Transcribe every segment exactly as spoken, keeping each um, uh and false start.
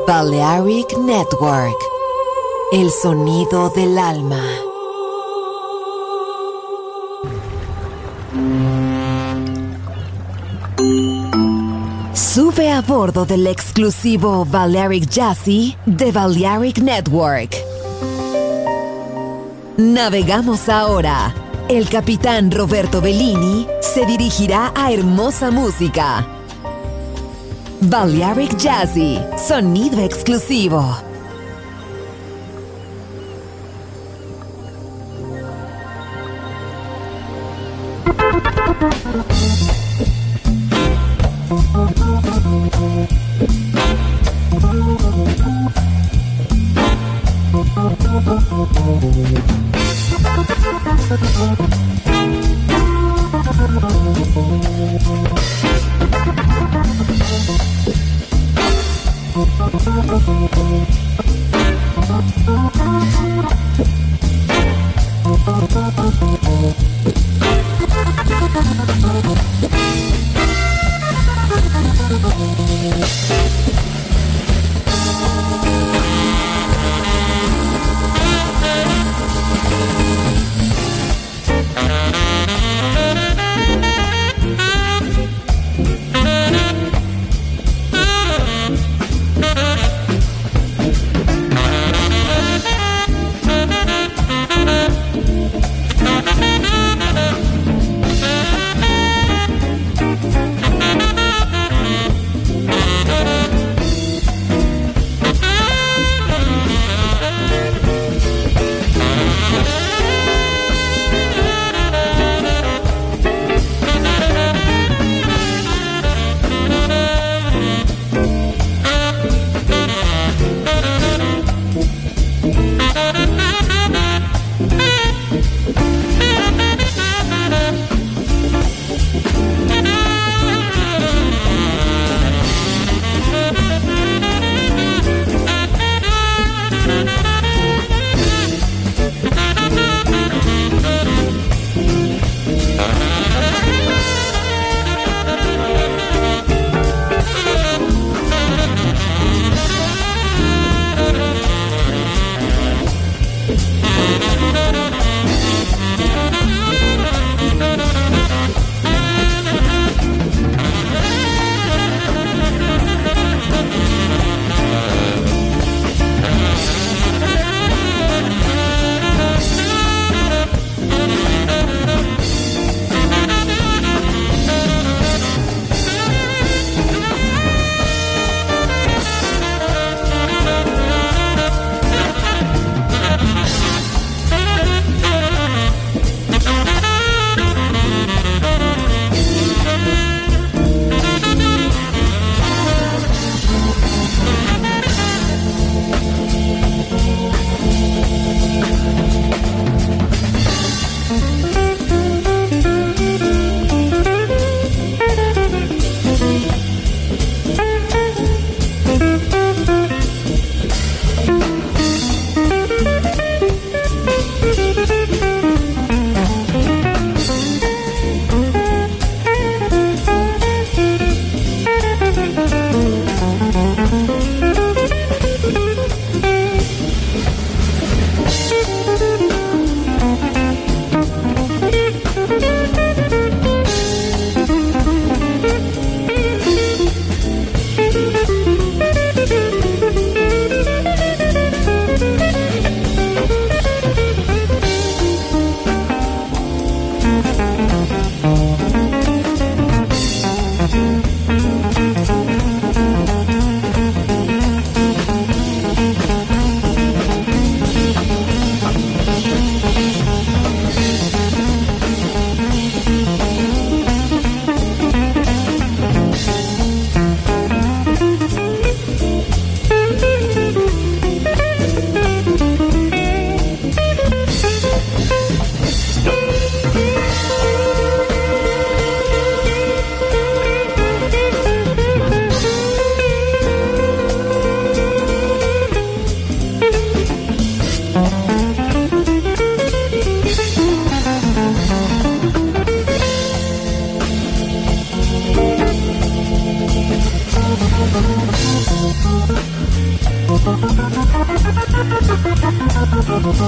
Balearic Network, el sonido del alma. Sube a bordo del exclusivo Balearic Jazzy de Balearic Network. Navegamos ahora. El capitán Roberto Bellini se dirigirá a hermosa música. Balearic Jazzy, sonido exclusivo.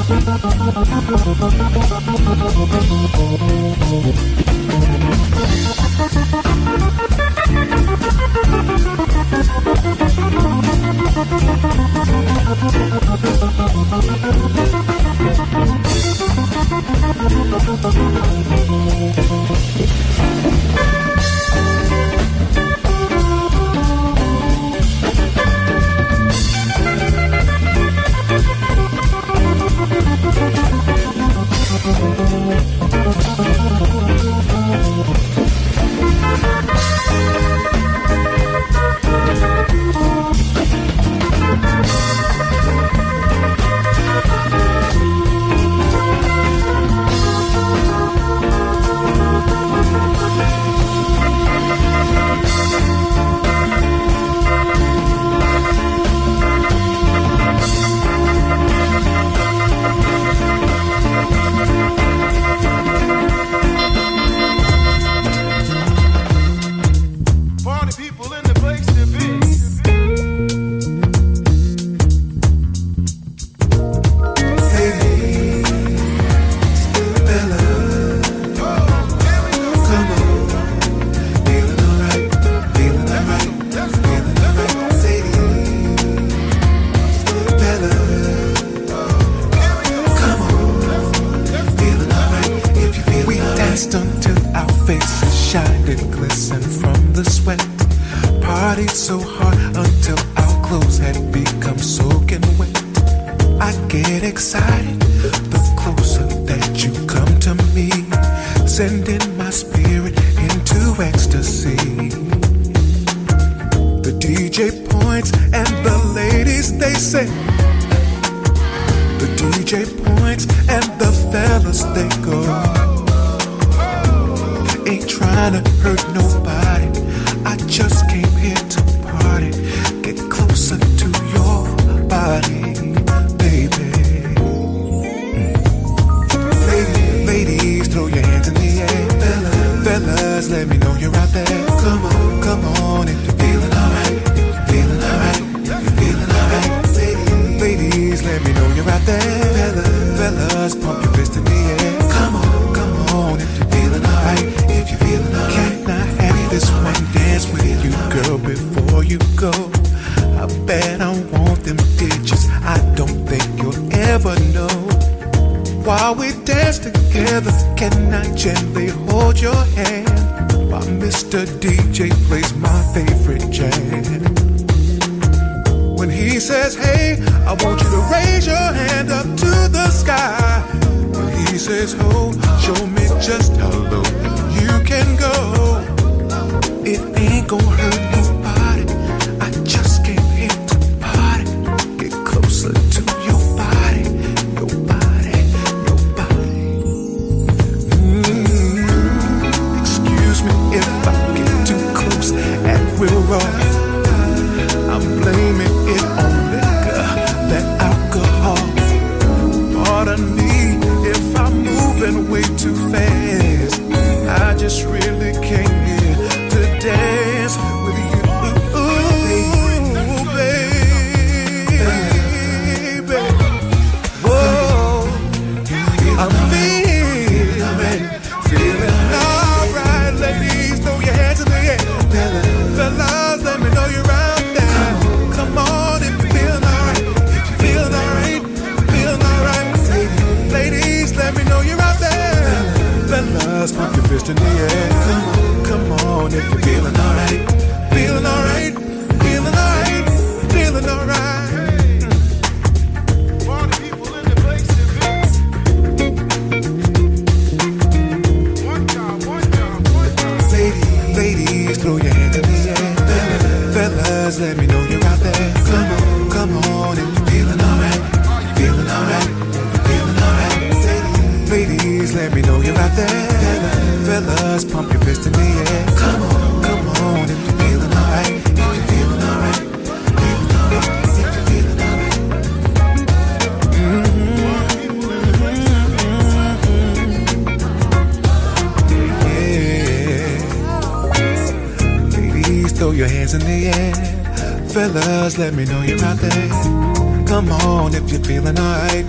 Fellas, let me know you're out there. Come on if you're feeling alright,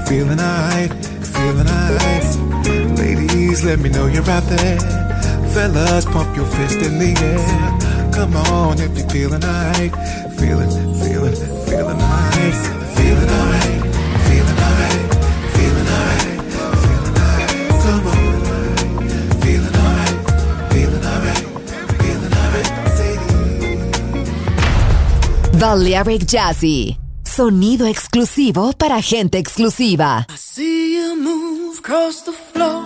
feeling alright, feeling alright. Ladies, let me know you're out there. Fellas, pump your fist in the air. Come on if you're feeling alright, feeling, feeling, feeling alright, feeling alright, feeling alright, feeling alright, feeling alright. Come on, feeling alright, feeling alright, feeling alright. Balearic Jazzy, sonido exclusivo para gente exclusiva. I see you move across the floor.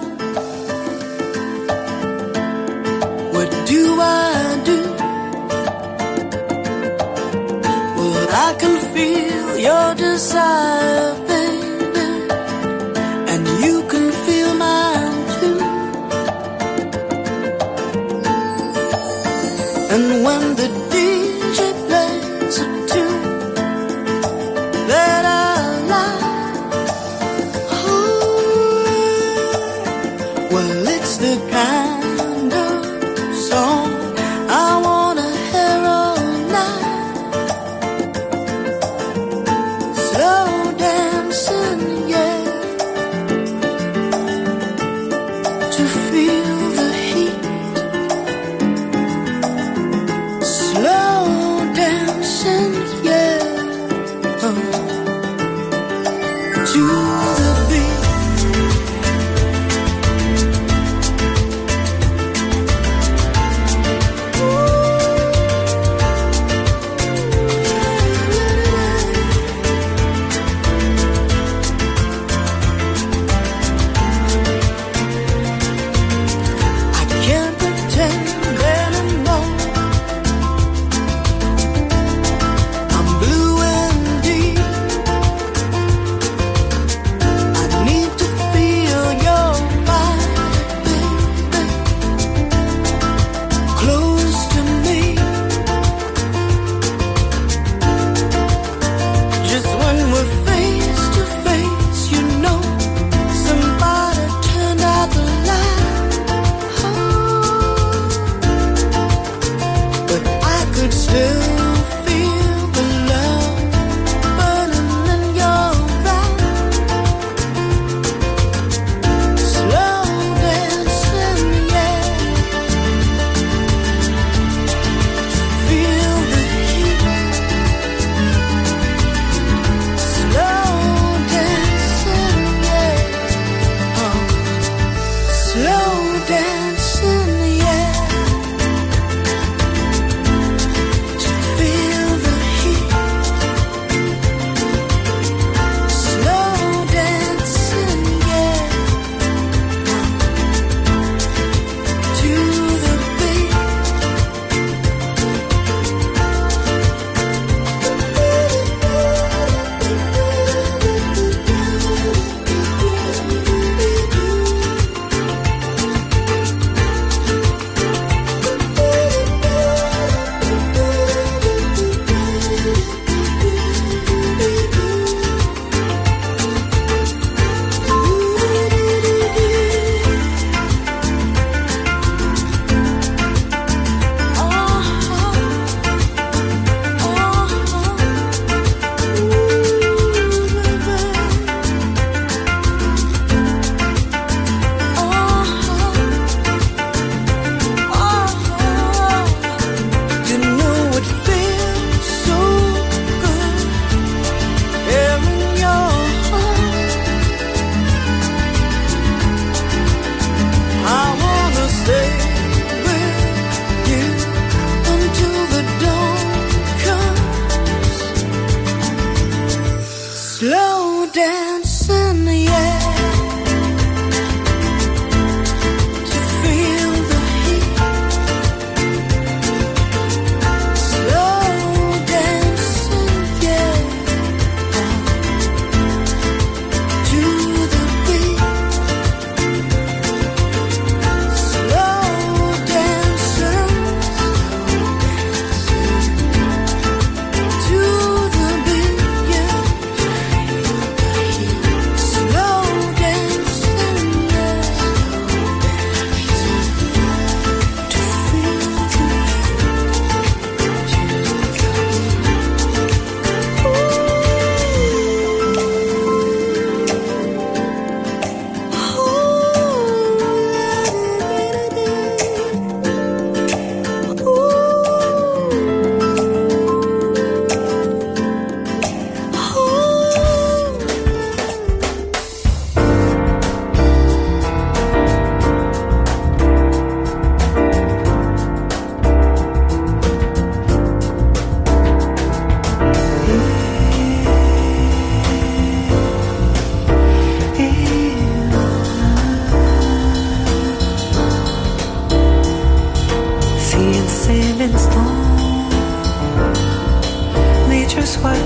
What do I do? I can feel your desire, baby, and you can feel mine too. And when the D J plays a tune that I like, ooh, well, it's the kind of song I wanna hear all night. Slow dancing, yeah, to feel the heat. Slow dancing, yeah, oh, to the beat.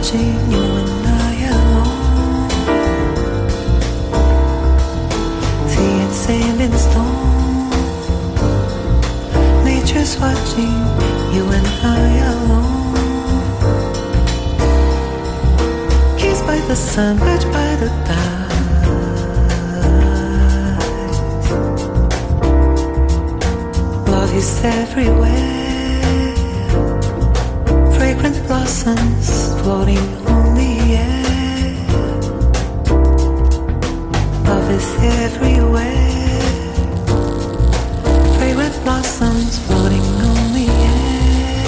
watching you and I alone. See it sand in stone. Nature's watching you and I alone. Kissed by the sun, touched by the tide. Love is everywhere. Fragrant blossoms floating on the air. Love is everywhere. Fragrant blossoms floating on the air.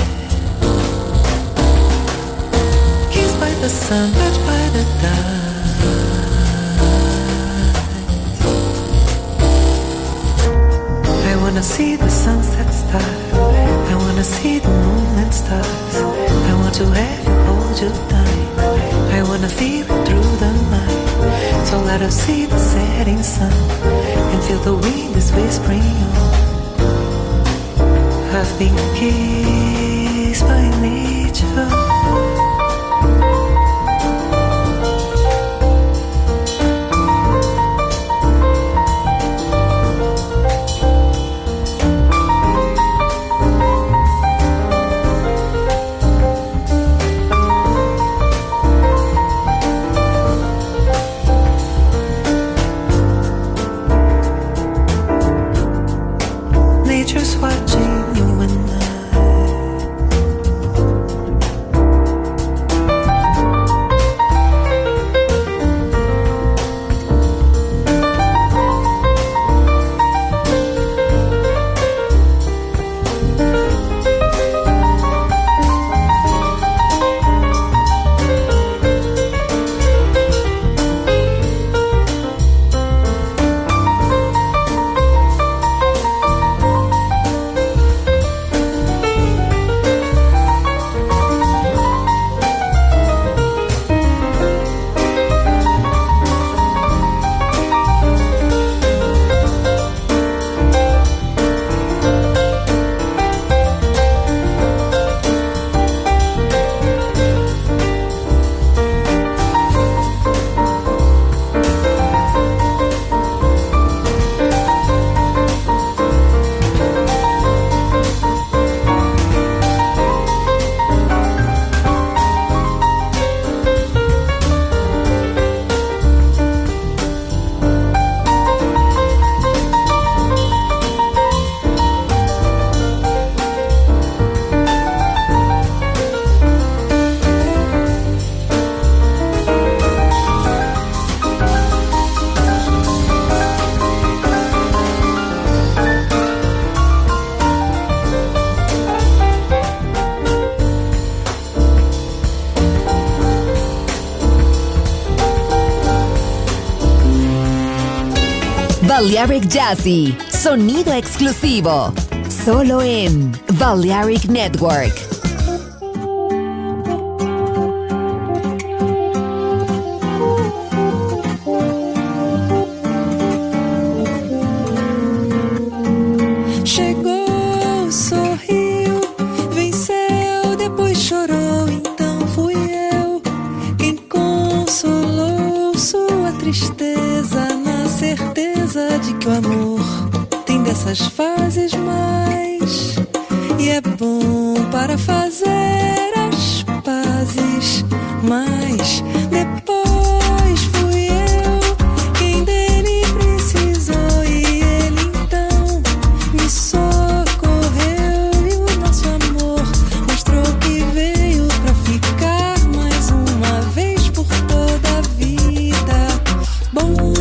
Kissed by the sun, touched by the tide. I wanna see the sunset start. I wanna see the moon and stars. I want to have you, hold you tight. I wanna feel it through the night. So let us see the setting sun and feel the wind is whispering on. I've been kissed by nature. Nature's watching you and I. Balearic Jazzy, sonido exclusivo, solo en Balearic Network. Chegou, sorriu, venceu, depois chorou, então fui eu quem consolou sua tristeza na certeza de que o amor tem dessas fases mais e é bom para fazer as pazes, mas depois fui eu quem dele precisou e ele então me socorreu e o nosso amor mostrou que veio pra ficar mais uma vez por toda a vida. Bom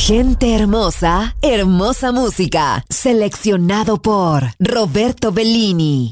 Gente hermosa, hermosa música. Seleccionado por Roberto Bellini.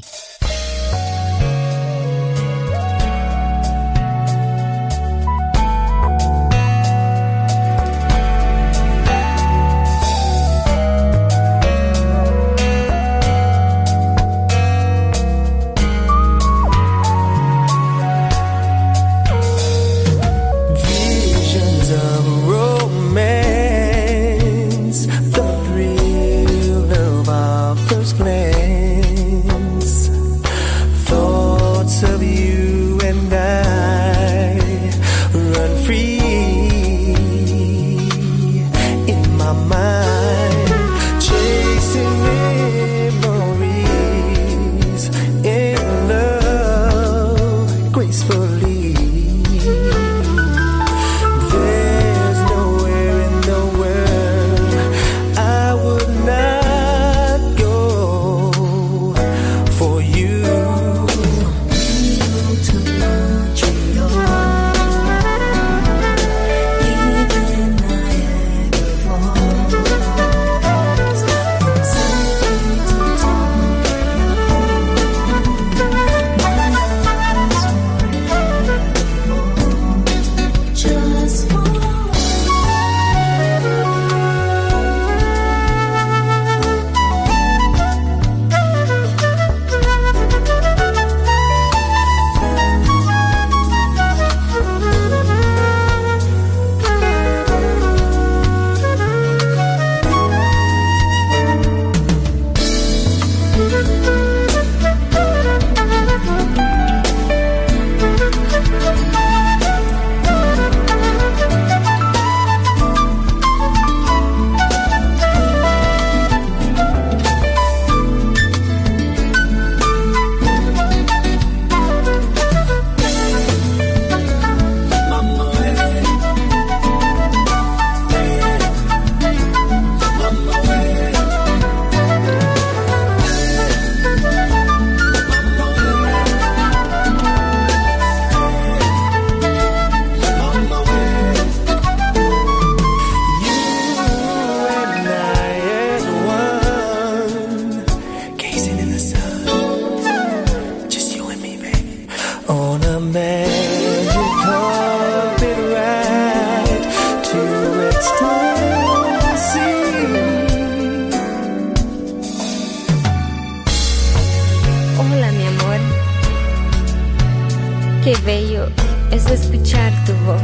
Qué bello es escuchar tu voz.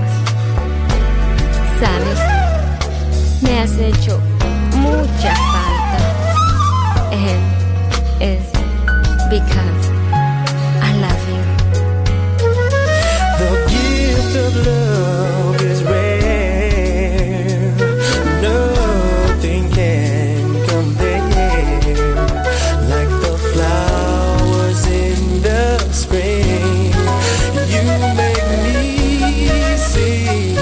Sabes, me has hecho mucha falta. And it's because I love you. The gift of love is rare. Nothing can compare. Like the flowers in the spring, you make me sing.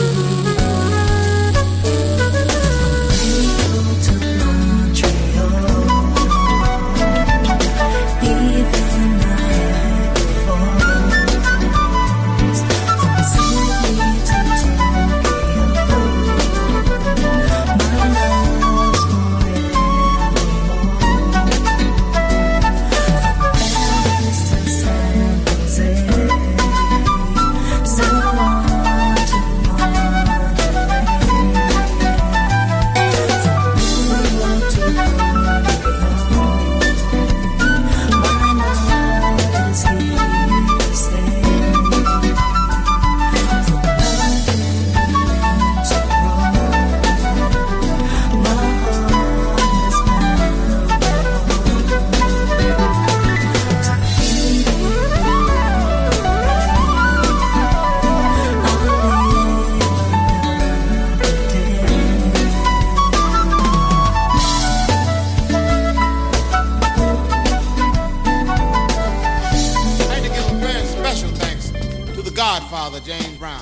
Godfather James Brown.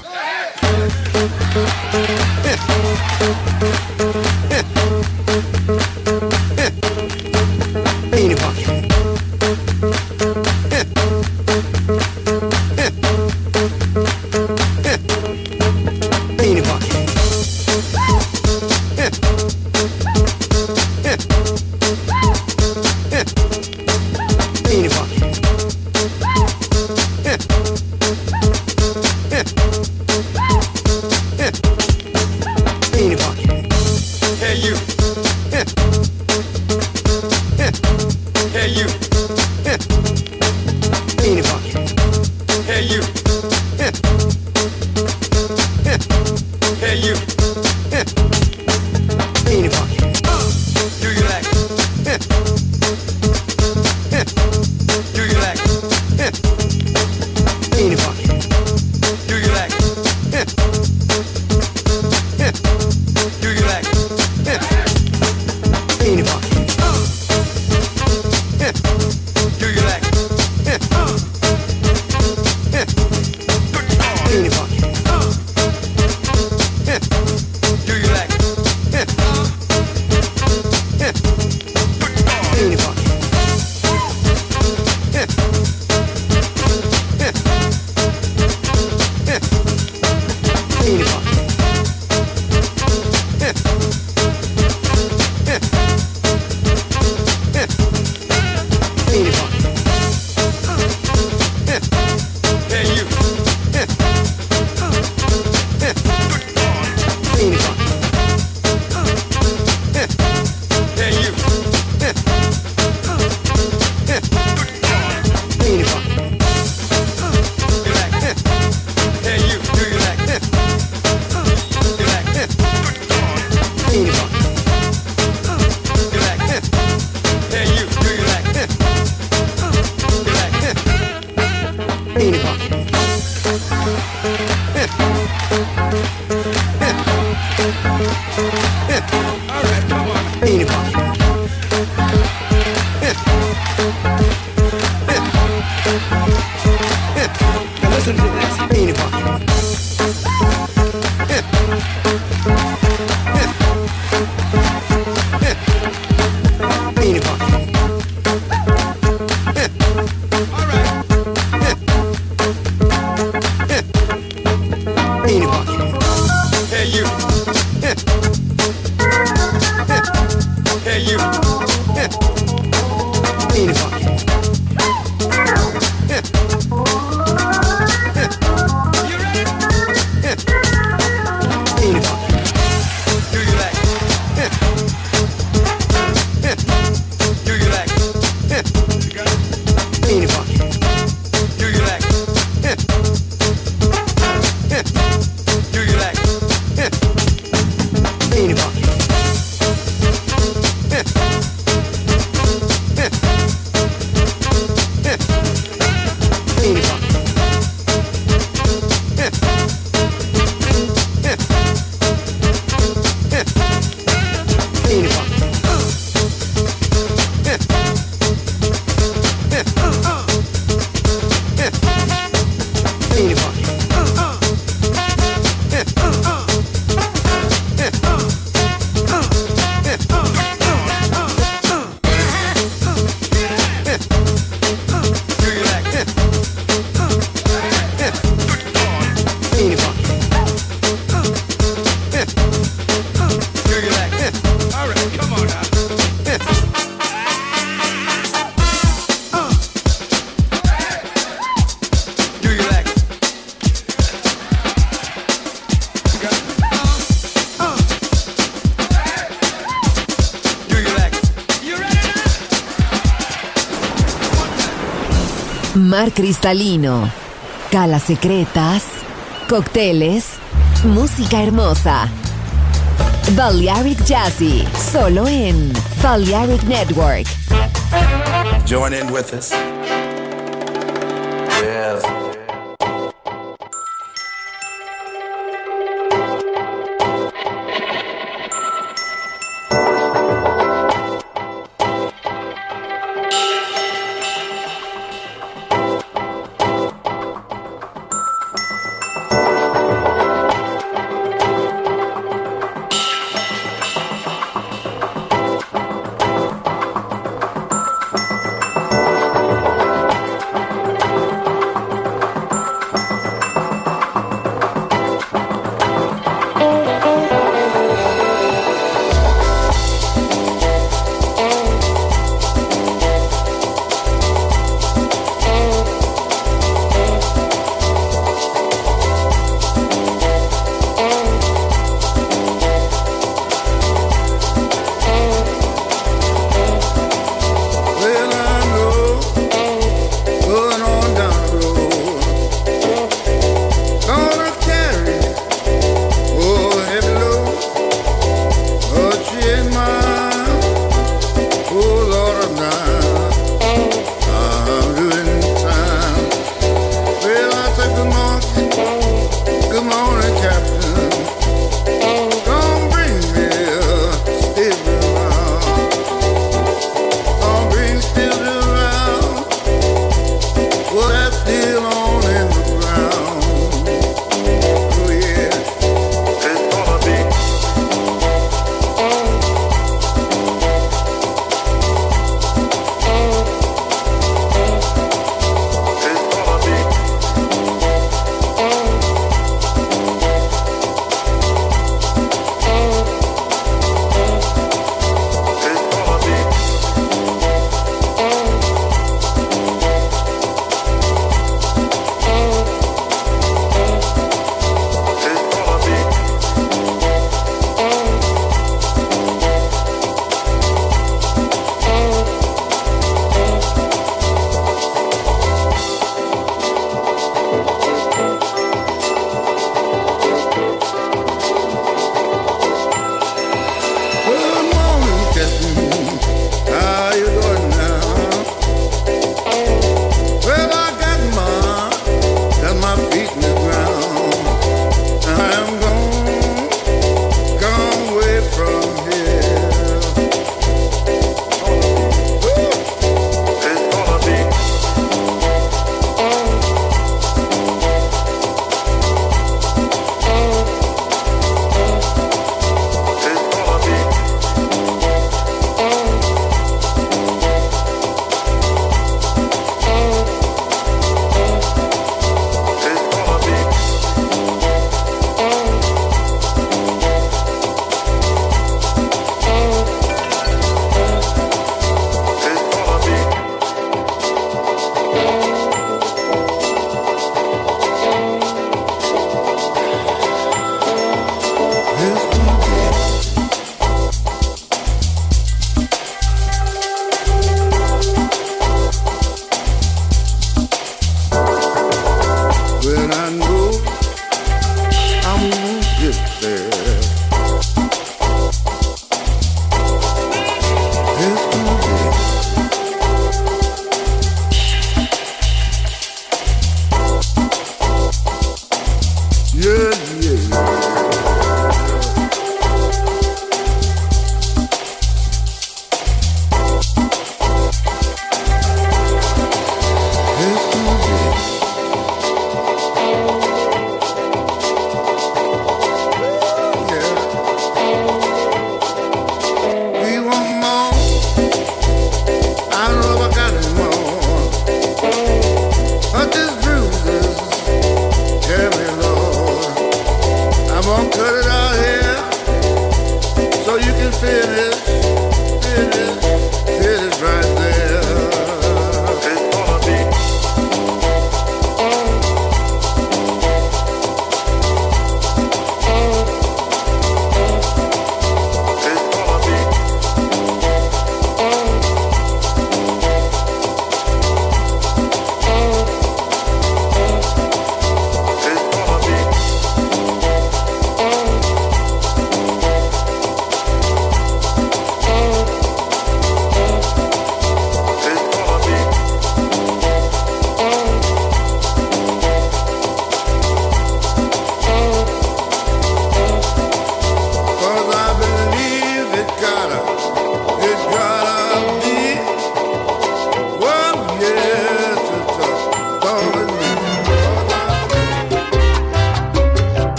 Anyone. Do you like it? All right, come on now. Do you like it? Do you like it? You ready now? Mar cristalino, calas secretas, cócteles, música hermosa. Balearic Jazzy, solo en Balearic Network. Join in with us. Yes.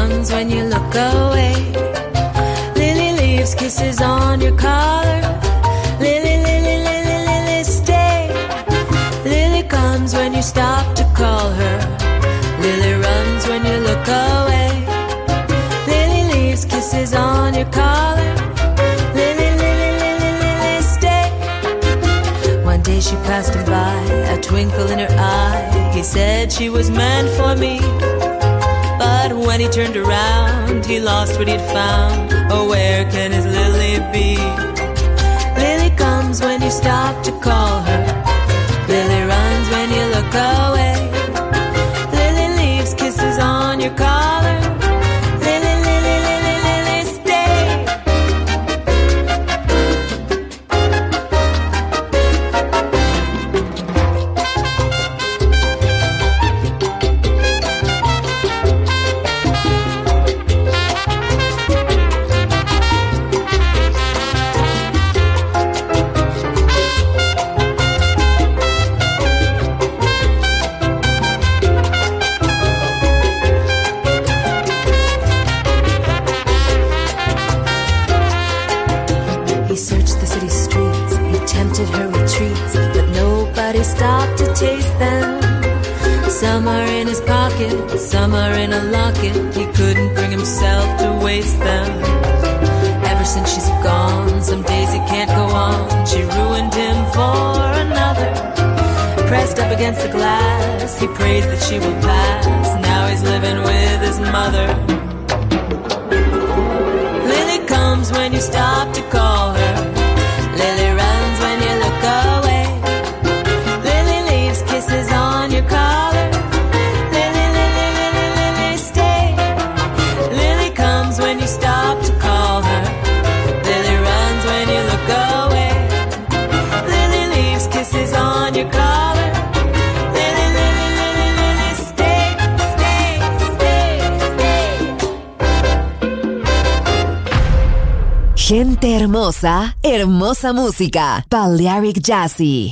comes when you look away. Lily leaves kisses on your collar. Lily, Lily, Lily, Lily, stay. Lily comes when you stop to call her. Lily runs when you look away. Lily leaves kisses on your collar. Lily, Lily, Lily, Lily, stay. One day she passed him by, a twinkle in her eye. He said she was meant for me. But when he turned around, he lost what he'd found. Oh, where can his Lily be? Lily comes when you stop to call her. Lily runs when you look away. Lily leaves kisses on your collar. Lily, Lily, Lily, Lily, stay. He searched the city streets, he tempted her retreats, but nobody stopped to taste them. Some are in his pocket, some are in a locket. He couldn't bring himself to waste them. Ever since she's gone, some days he can't go on. She ruined him for another. Pressed up against the glass, he prays that she will pass. Now he's living with his mother. Lily comes when you stop to call her. Lily runs when you look away. Lily leaves kisses on your collar. Lily, Lily, Lily, Lily, stay. Lily comes when you stop to call her. Lily runs when you look away. Lily leaves kisses on your collar. Lily, Lily, Lily, Lily, stay, stay, stay, stay. Gente hermosa, hermosa música. Balearic Jazzy.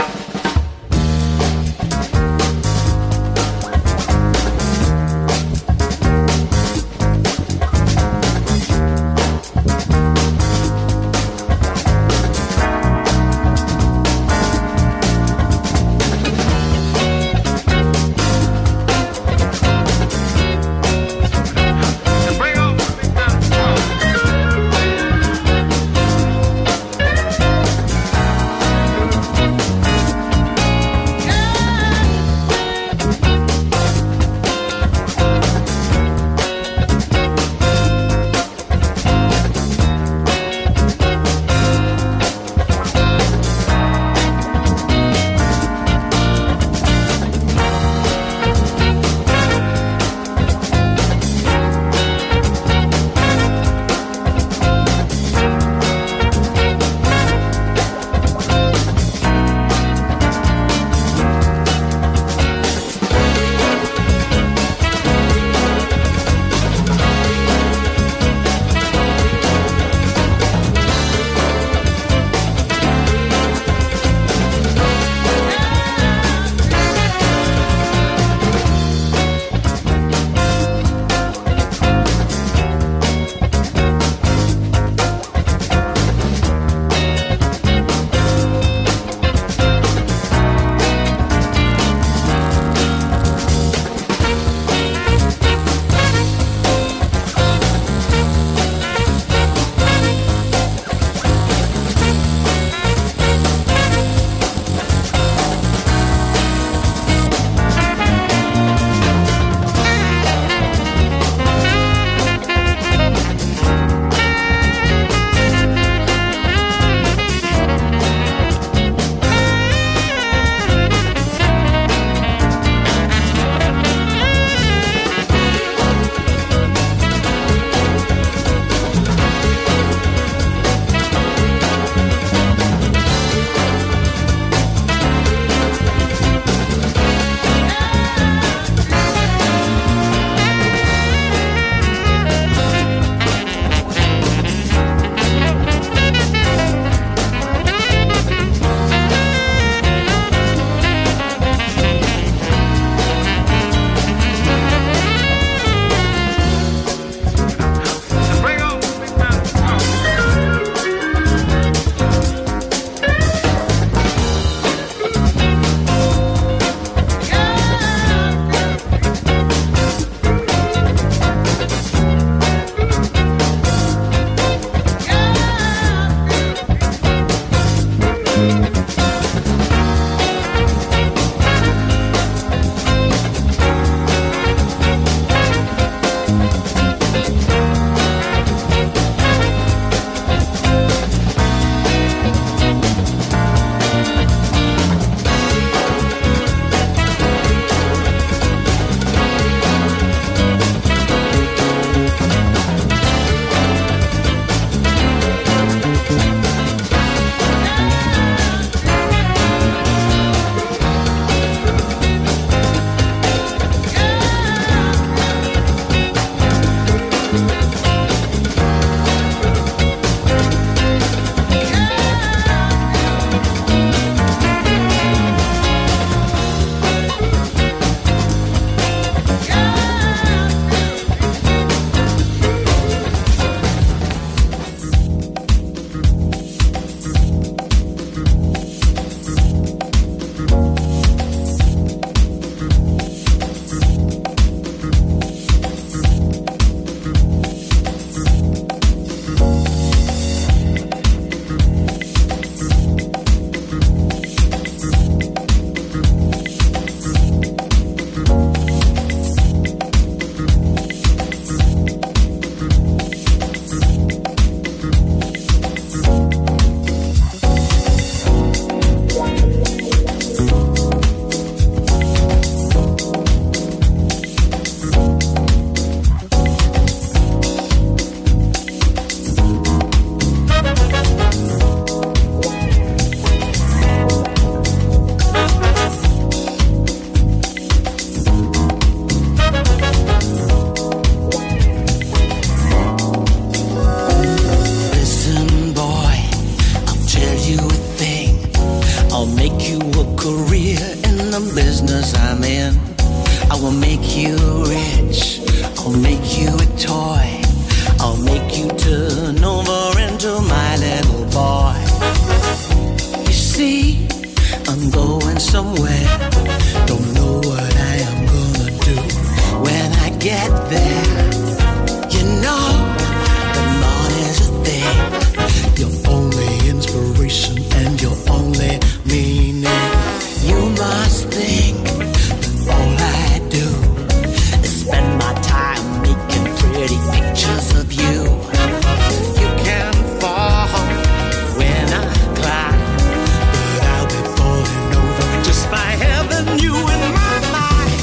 I'm going somewhere. Don't know what I am gonna do when I get there. You know, the morning's a thing. Your only inspiration and your only meaning. You must think that all I do is spend my time making pretty pictures of you. You can fall when I climb, but I'll be falling over just by having you in my mind.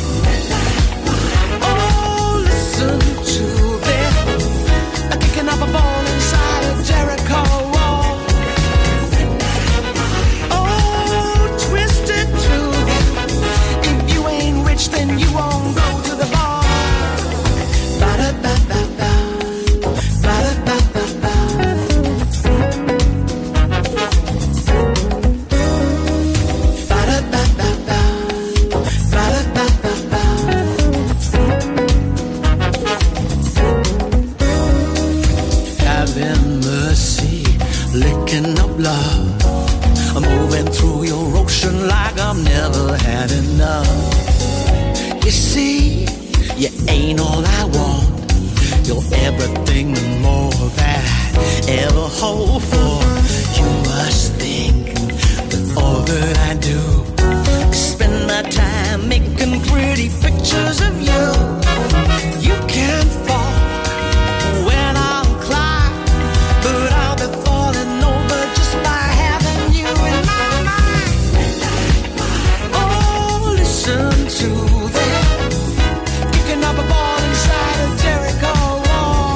Oh, listen to them, kicking up a ball inside a Jericho wall. Oh, twist it to them. If you ain't rich, then you won't go to the bar. Ba-da-ba-ba-ba, ba-da-ba-ba-ba. Ba-da-ba-ba-ba, ba-da-ba-ba-ba. Having mercy, licking up love. I'm moving through your ocean like I've never had enough. You see, you ain't all I want. You're everything and more that I ever hope for. You must think that all that I do is spend my time making pretty pictures of you. You can't fall when I'll climb, but I'll be falling over just by having you in my mind. Oh, listen to them, kicking up a ball inside a Jericho wall.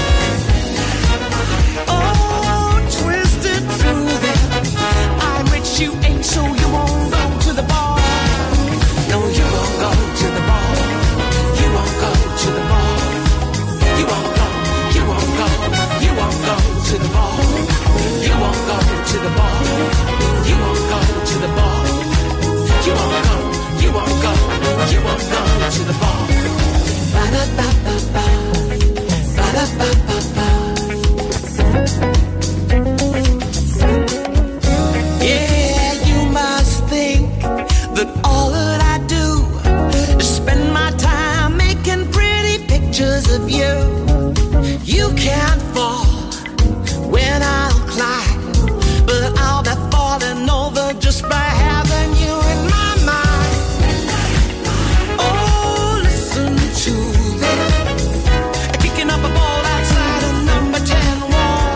Oh, twist it through them. I'm rich, you ain't, so you won't go to the bar. No, you won't go to the bar. You won't go to the bar. You won't go, you won't go, you won't go to the bar. You won't go to the bar. You won't go to the bar. You won't go, you won't go, you won't go to the bar. Ba-da-ba-ba-ba, ba-da-ba-ba-ba. Yeah, you must think that all that I do is spend my time making pretty pictures of you. You can't fall when I'll climb, but I'll be falling over just by having you in my mind. Oh, listen to them, kicking up a ball outside a number ten wall.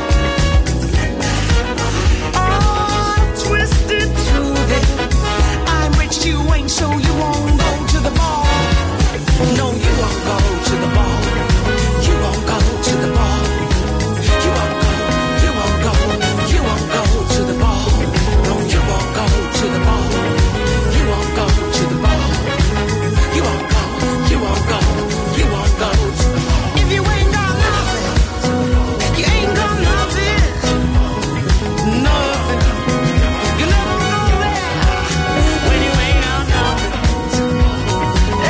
Oh, twist it to them. I'm rich, you ain't, so you won't go to the bar. No, you won't go to the bar. You won't go to the bar. You won't go, you won't go, you won't go to the bar. No, you won't go to the bar. You won't go to the bar. You won't go, you won't go, you won't go to the bar. If you ain't got nothing, you ain't got nothing. Nothing. You never know that when you ain't got nothing.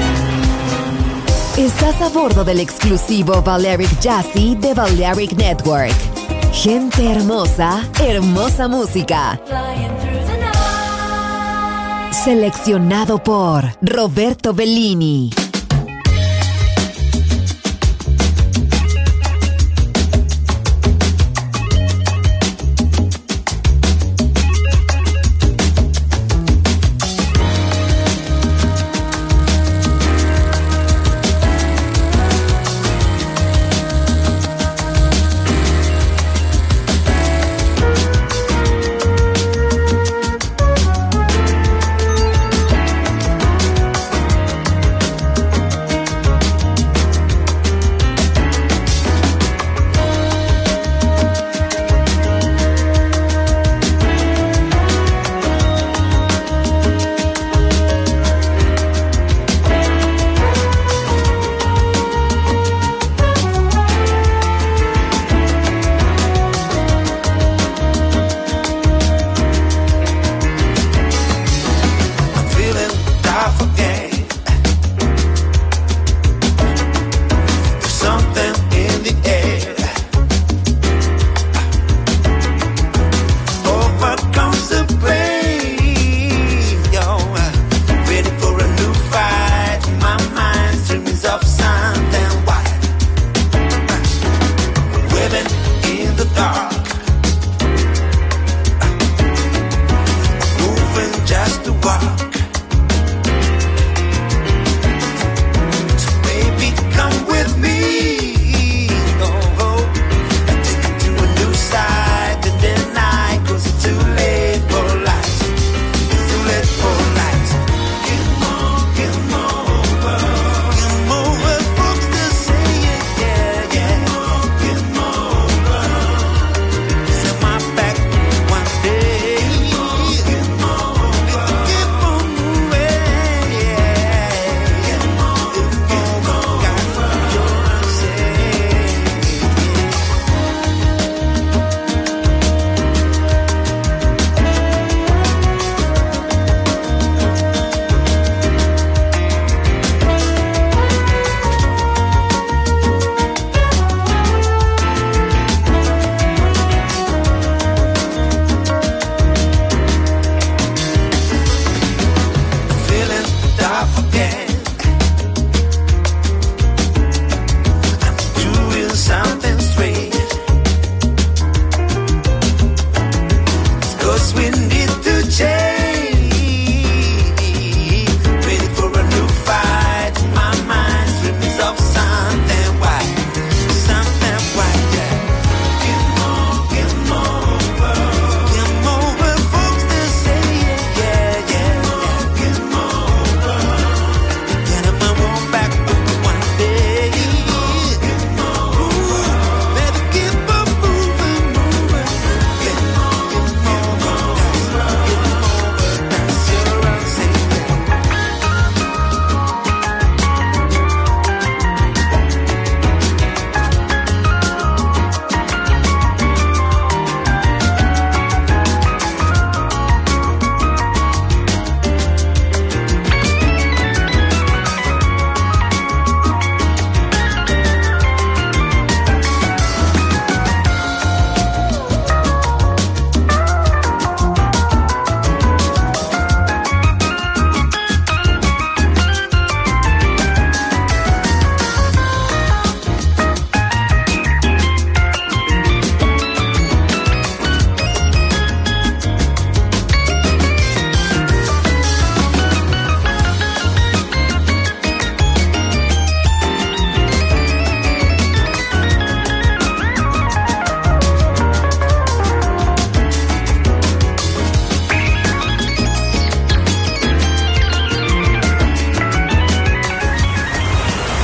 Hey. Estás a bordo del exclusivo Balearic Jazzy de Balearic Network. Gente hermosa, hermosa música. Seleccionado por Roberto Bellini.